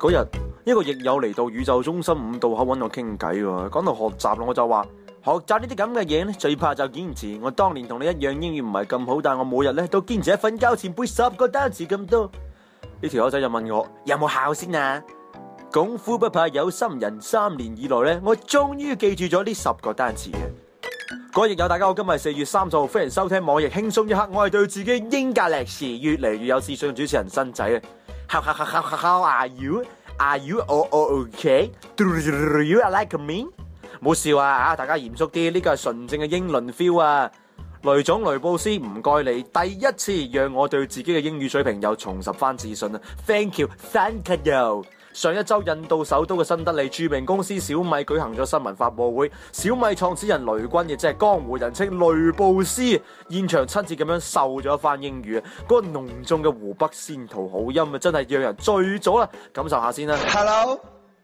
嗰日一個亦友嚟到宇宙中心5道口揾我傾偈喎，講到學習咯，我就話學習呢啲咁嘅嘢咧，最怕就堅持。我當年同你一樣，英語唔係咁好，但我每日咧都堅持喺瞓覺前背10個單詞咁多。呢條友仔就問我有冇考先啊？功夫不怕有心人，3年以來咧，我終於記住咗呢10個單詞嘅。各位亦友大家好，今日係4月30號，歡迎收聽網易輕鬆一刻。我係對自己英格歷史越嚟越有自信嘅主持人新仔啊！How are you? Are you all okay? Do you like me? 冇笑啊！大家嚴肅啲，呢個係純正嘅英倫 feel 啊！雷總雷布斯，唔該你第一次讓我對自己嘅英語水平又重拾翻自信啊 ！Thank you, thank you。上一周印度首都嘅新德里著名公司小米舉行咗新聞發佈會，小米創始人雷軍亦即係江湖人稱雷布斯，現場親切咁樣授咗一番英語啊！嗰個濃重嘅湖北仙桃好音啊，真係讓人醉咗啦！感受下先啦。 Hello,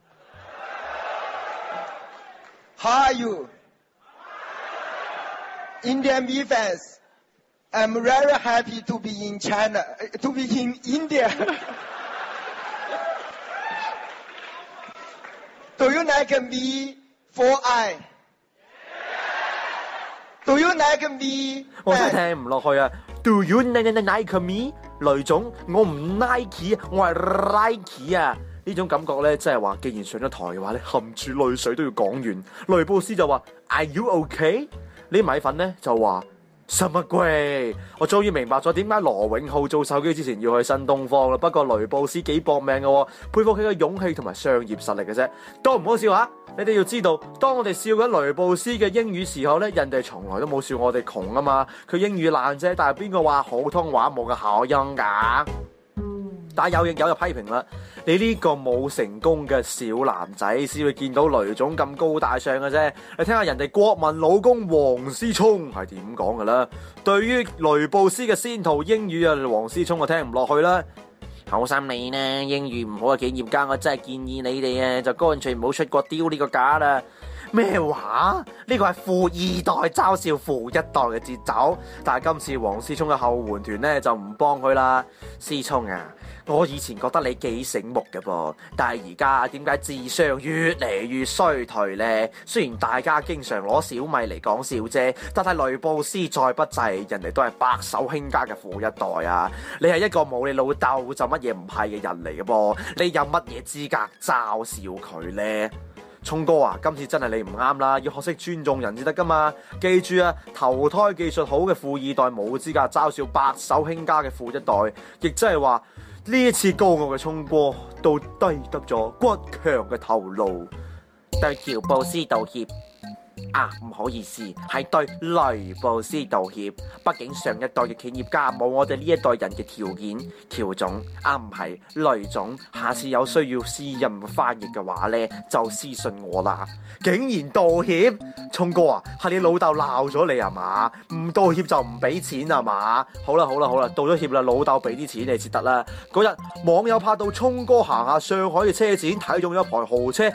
how are you? Indian B fans, I'm very happy to be in China, to be in India. Do you like me for I? Do you like me? 我真係聽唔落去啊 ！Do you like me？ 雷總，我唔 Nike， 我係 Nike 啊！呢種感覺咧，即係話，既然上咗台嘅話咧，含住淚水都要講完。雷布斯就話 Are you okay？ 呢米粉咧就話什麼鬼？我終於明白咗點解羅永浩做手機之前要去新東方啦。不過雷布斯幾搏命嘅，佩服佢嘅勇氣同埋商業實力嘅啫。多唔好笑啊！你哋要知道，當我哋笑緊雷布斯嘅英語時候咧，人哋從來都冇笑我哋窮啊嘛。佢英語爛啫，但係邊個話普通話冇個口音㗎？但有亦有就批評啦，你呢個冇成功嘅小男仔先會見到雷總咁高大上嘅啫。你聽下人哋國民老公王思聰係點講㗎啦？對於雷布斯嘅仙桃英語啊，王思聰就聽唔落去啦。好心你呢，英語唔好嘅企業家，我真係建議你哋啊，就乾脆唔好出國丟呢個架啦。咩話？呢個係富二代嘲笑富一代嘅節奏，但係今次王思聰嘅後援團呢，就唔幫佢啦。思聰啊，我以前覺得你幾醒目嘅噃，但係而家點解智商越嚟越衰退呢？雖然大家經常攞小米嚟講笑啫，但係雷布斯再不濟，人哋都係白手興家嘅富一代啊！你係一個冇你老豆就乜嘢唔係嘅人嚟嘅噃，你有乜嘢資格嘲笑佢呢？聰哥啊，今次真係你唔啱啦，要學識尊重人至得噶嘛！記住啊，投胎技術好嘅富二代冇資格嘲笑白手興家嘅富一代，亦即係話呢一次高傲嘅聰哥都低得咗骨強嘅頭顱，對喬布斯道歉。唔好意思，係對雷布斯道歉。畢竟上一代嘅企業家冇我哋呢一代人嘅條件。喬總，唔係雷總，下次有需要私人翻譯嘅話呢，就私信我啦。竟然道歉，聰哥啊，係你老豆鬧咗你啊嘛？唔道歉就唔俾錢啊嘛？好啦，道咗歉啦，老豆俾啲錢你先得啦。嗰日網友拍到聰哥行下上海嘅車展，睇中咗一台豪車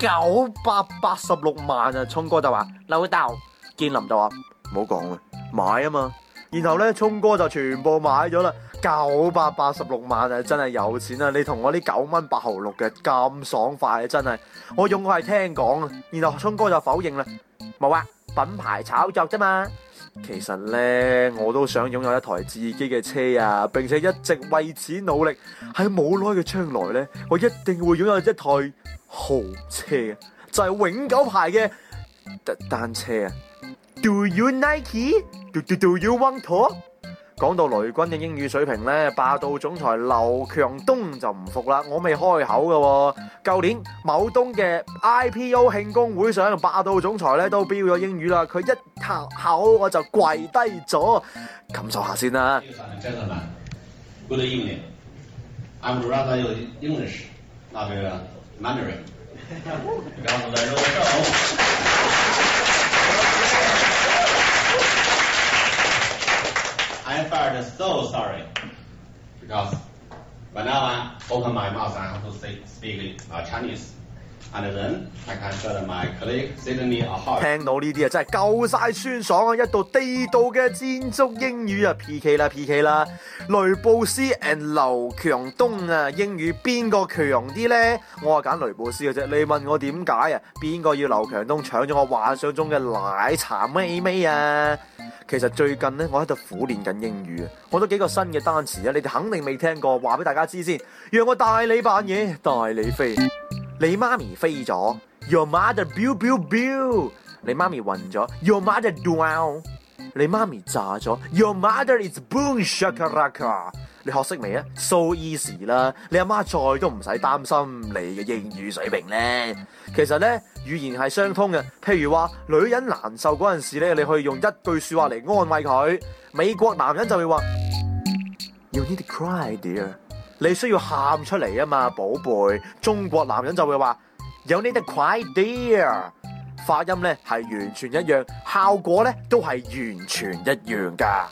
986萬啊！聰哥就話老豆，建林就話唔好講啦，買啊嘛。然後咧，聰哥就全部買咗啦，986萬啊，真係有錢啊！你同我呢9蚊8毫6嘅咁爽快啊，真係。我用我係聽講啊，然後聰哥就否認啦，冇啊，品牌炒作啫嘛。其實咧，我都想擁有一台自己嘅車啊，並且一直為此努力。喺冇耐嘅將來咧，我一定會擁有一台豪車，就係永久牌嘅單車啊。Do you Nike? Do you want to? 講到雷軍嘅英語水平咧，霸道總裁劉強東就唔服啦。我未開口嘅，舊年某東嘅 IPO 慶功會上，霸道總裁咧都標咗英語啦。佢一口我就跪低咗，感受下先啦。 Gentlemen, good evening. I'm rather English, not Mandarin. 告诉大家I felt so sorry because when I open my mouth, I have to speak Chinese. And then I can tell my colleague Sydney Ahart. 聽到呢啲啊，真係夠晒酸爽啊！一道地道嘅戰足英語啊 ，PK 啦 PK 啦！雷布斯 and 劉強東啊，英語邊個強啲呢？我話揀雷布斯嘅啫。你問我點解啊？邊個要劉強東搶咗我幻想中嘅奶茶妹妹啊？其實最近呢，我喺度苦練緊英語啊，我都幾個新嘅單詞啊，你哋肯定未聽過，話俾大家知先。讓我帶你扮嘢，帶你飛。你媽咪飛咗 ，Your mother biu biu biu。你媽咪暈咗 ，Your mother drown。你媽咪炸咗 ，Your mother is boom shakalaka。你學識未啊 ？So easy 啦，你阿媽再都唔使擔心你嘅英語水平咧。其實咧，語言係相通嘅。譬如話，女人難受嗰陣時咧，你可以用一句説話嚟安慰佢。美國男人就會話 ，You need to cry, dear。你需要喊出嚟啊嘛，寶貝。中國男人就會話 You need to cry, dear。發音咧係完全一樣，效果咧都係完全一樣㗎。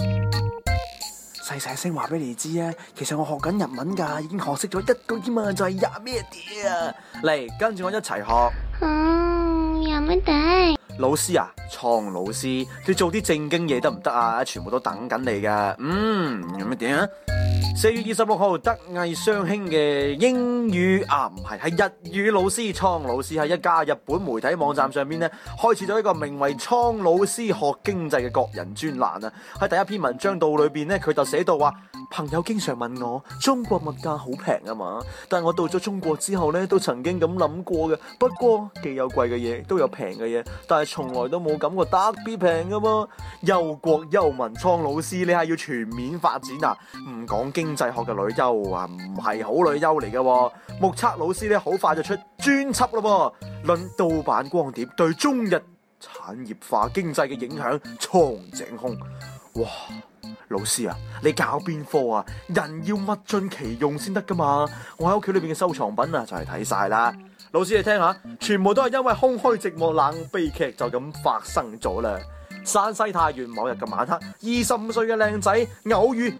細細聲話俾你知啊，其實我學緊日文㗎，已經學識咗一個啫嘛，就係呀咩啲啊。嚟跟住我一齊學。 呀咩啲？ 老師啊，蒼老師，你做啲正經嘢得唔得啊？全部都等緊你㗎。有乜點啊？4月26號，德藝雙馨嘅英語唔係日語老師蒼老師喺一家日本媒體網站上邊咧，開設咗一個名為蒼老師學經濟嘅個人專欄啊。喺第一篇文章度裏邊咧，佢就寫到話，朋友經常問我中國物價好平啊嘛，但係我到咗中國之後咧，都曾經咁諗過嘅。不過既有貴嘅嘢，都有平嘅嘢，但係從來都冇感覺特別平噶嘛。憂國憂民蒼老師，你係要全面發展啊，唔講經濟學嘅女優啊，唔係好女優嚟嘅。目測老師咧好快就出專輯咯，論盜版光碟對中日產業化經濟嘅影響，蒼井空。哇！老師啊，你搞邊科啊？人要物盡其用先得噶嘛！我喺屋企裏邊嘅收藏品啊，就係睇晒啦。老師你聽下，全部都係因為空虛寂寞冷悲劇就咁發生咗啦。山西太原某日嘅晚黑，25歲嘅靚仔偶遇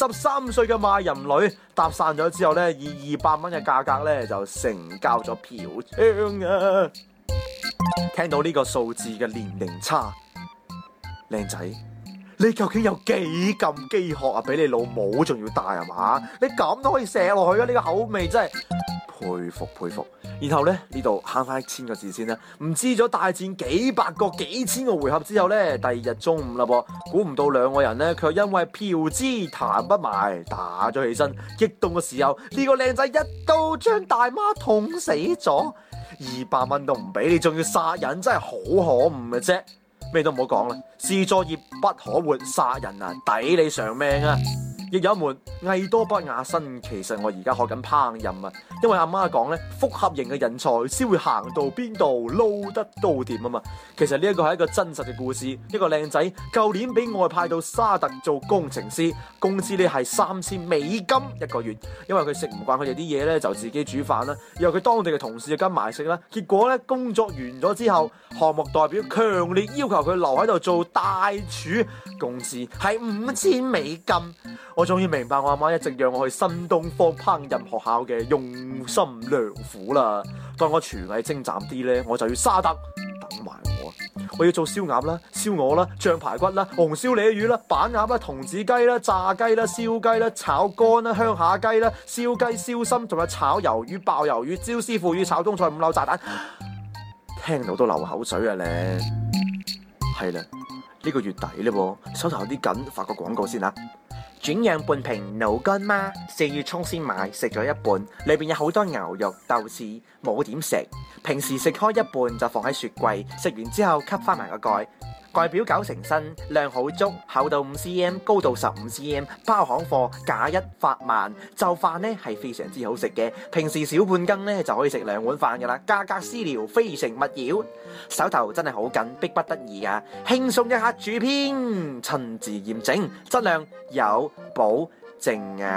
53歲嘅賣淫女，搭訕咗之後咧，以200蚊嘅價格咧就成交咗嫖娼啊！聽到呢個數字嘅年齡差，靚仔，你究竟有幾咁飢渴啊？比你老母仲要大係嘛？你咁都可以射落去啊！呢個口味真係佩服佩服。然後咧呢度慳翻1000個字先啦。唔知咗大戰幾百個幾千個回合之後咧，第二日中午啦噃，估唔到兩個人咧卻因為嫖資談不埋，打咗起身。激動嘅時候，呢個靚仔一刀將大媽捅死咗，200蚊都唔俾，你仲要殺人，真係好可惡嘅啫。咩都唔好講啦，是作業不可活，殺人啊抵你償命啊！亦有一門藝多不雅身，其實我而家學緊烹飪啊，因為阿媽講咧，複合型嘅人才先會行到邊度撈得到掂啊嘛。其實呢一個係一個真實嘅故事，一個靚仔舊年俾外派到沙特做工程師，工資咧係3000美金一個月，因為佢食唔慣佢哋啲嘢咧，就自己煮飯啦，然後佢當地嘅同事就跟埋食啦。結果咧工作完咗之後，項目代表強烈要求佢留喺度做大廚，工資係5000美金。我終於明白我阿媽一直讓我去新東方烹飪學校嘅用心良苦啦。當我廚藝精湛啲咧，我就要沙特等埋我。我要做燒鴨啦、燒鵝啦、醬排骨啦、紅燒鯉魚啦、板鴨啦、童子雞啦、炸雞啦、燒雞啦、炒肝啦、鄉下雞啦、燒雞、燒心，仲有炒魷魚、爆魷魚、椒絲腐乳、炒冬菜、5柳炸彈，聽到都流口水啊咧。係啦，呢個月底咧喎，手頭有啲緊，發個廣告先啦。轉釀半瓶老乾媽，4月初先買，食咗一半，裏邊有好多牛肉、豆豉，冇點食。平時食開一半就放喺雪櫃，食完之後吸翻埋個蓋。外表9成新，量好足，厚度5cm，高度15cm，包行貨，價1發萬。就飯呢係非常之好食嘅，平時小半羹呢就可以食2碗飯噶啦，價格私聊，非誠勿擾。手頭真係好緊，迫不得已啊！輕鬆一刻主編，親自驗證，質量有保證啊！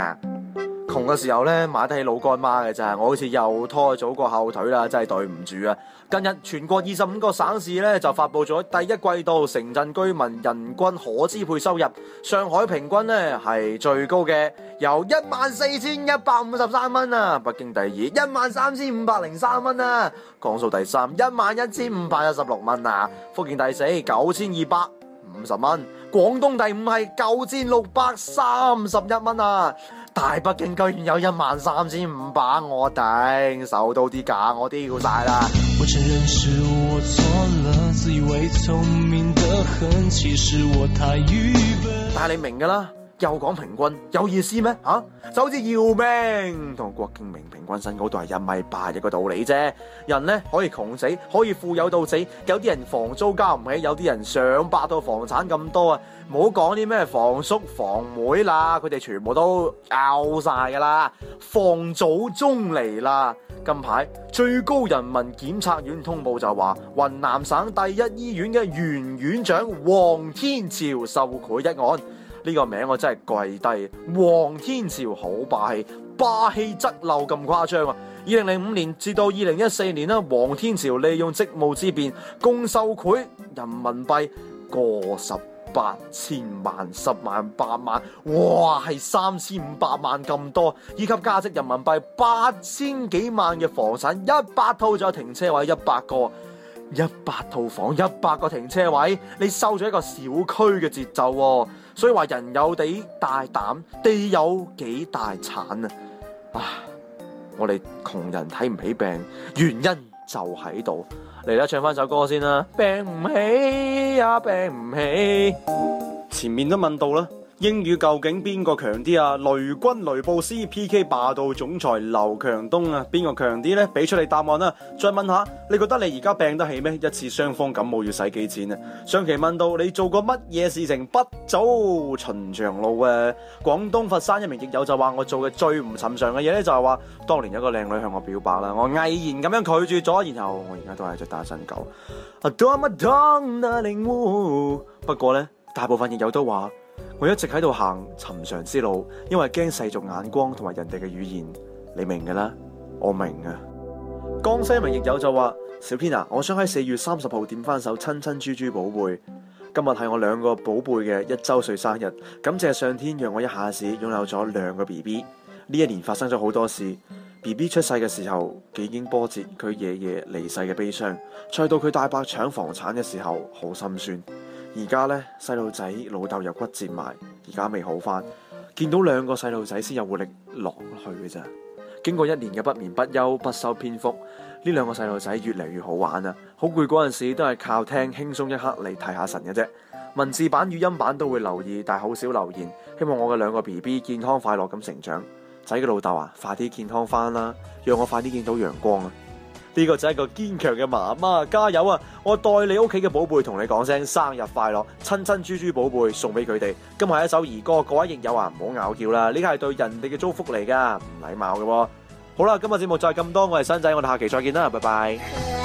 窮嘅時候咧買得起老乾媽嘅咋，我好似又拖祖國後腿啦，真係對唔住啊！近日全國25個省市咧就發佈咗第一季度城鎮居民人均可支配收入，上海平均咧係最高嘅，由14,153蚊啊，北京第二13,503蚊啊，江蘇第三11,516蚊啊，福建第四9,250蚊，廣東第五係9,631蚊啊！大北京居然有13,500，我頂，受到啲假我丟晒啦！ 我承認是我錯了，自以為聰明得很，其實我太愚笨。 但係你明㗎啦，又講平均有意思咩？就好似姚明同郭敬明平均身高都係1.8米嘅道理啫。人呢可以窮死，可以富有到死，有啲人房租交唔起，有啲人上百套房產咁多啊！唔好講啲咩房叔房妹啦，佢哋全部都拗晒噶啦。房祖宗嚟啦！近排最高人民檢察院通報就話，雲南省第一醫院嘅原院長黃天朝受賄一案。呢個名我真係跪低，黃天朝好霸氣，霸氣側漏咁誇張啊！2005年至到2014年啦，黃天朝利用職務之便，共受賄人民幣過18,000萬、10萬、8萬，哇，係3,500萬咁多，以及價值人民幣8,000幾萬嘅房產100套，仲有停車位100個，100套房100個停車位，你收咗一個小區嘅節奏喎，所以話人有幾大膽，地有幾大產啊！我哋窮人睇唔起病，原因就喺度。嚟啦，唱翻首歌先啦，病唔起呀，病唔起。前面都問到啦，英語究竟邊個強啲啊？雷軍雷布斯 PK 霸道總裁劉強東啊，邊個強啲呢？俾出你答案啦。再問下，你覺得你而家病得起咩？一次雙方感冒要使幾錢啊？上期問到你做過乜嘢事情不走尋常路啊？廣東佛山一名亦友就話我做嘅最唔尋常嘅嘢咧，就係話當年有個靚女向我表白啦，我毅然咁樣拒絕咗，然後我而家都係隻單身狗。不過呢，大部分亦友都話我一直喺度行尋常之路，因為驚世俗眼光同埋人哋嘅語言，你明㗎啦，我明啊。江西一名亦友就話：小編啊，我想喺4月30號點翻首親親豬豬寶貝。今日係我2個寶貝嘅1周歲生日，感謝上天讓我一下子擁有咗2個 BB。呢一年發生咗好多事。BB 出世嘅時候，幾經波折，佢爺爺離世嘅悲傷，再到佢大伯搶房產嘅時候，好心酸。而家呢，細路仔老豆又骨折埋，而家未好翻，見到2個細路仔先有活力落去嘅咋。經過1年嘅不眠不休不修邊幅，呢2個細路仔越嚟越好玩啊！好攰嗰陣時都係靠聽輕鬆一刻嚟提下神嘅啫。文字版語音版都會留意，但係好少留言。希望我嘅2個 BB 健康快樂咁成長。仔嘅老豆啊，快啲健康翻啦，讓我快啲見到陽光啊！呢個就係一個堅強嘅媽媽，加油啊！我代你屋企嘅寶貝同你講聲生日快樂，親親豬豬寶貝送俾佢哋。今日係一首兒歌，各位亦友啊，唔好拗撬啦，呢個係對人哋嘅祝福嚟噶，唔禮貌嘅喎。好啦，今日節目就係咁多，我係新仔，我哋下期再見啦，拜拜。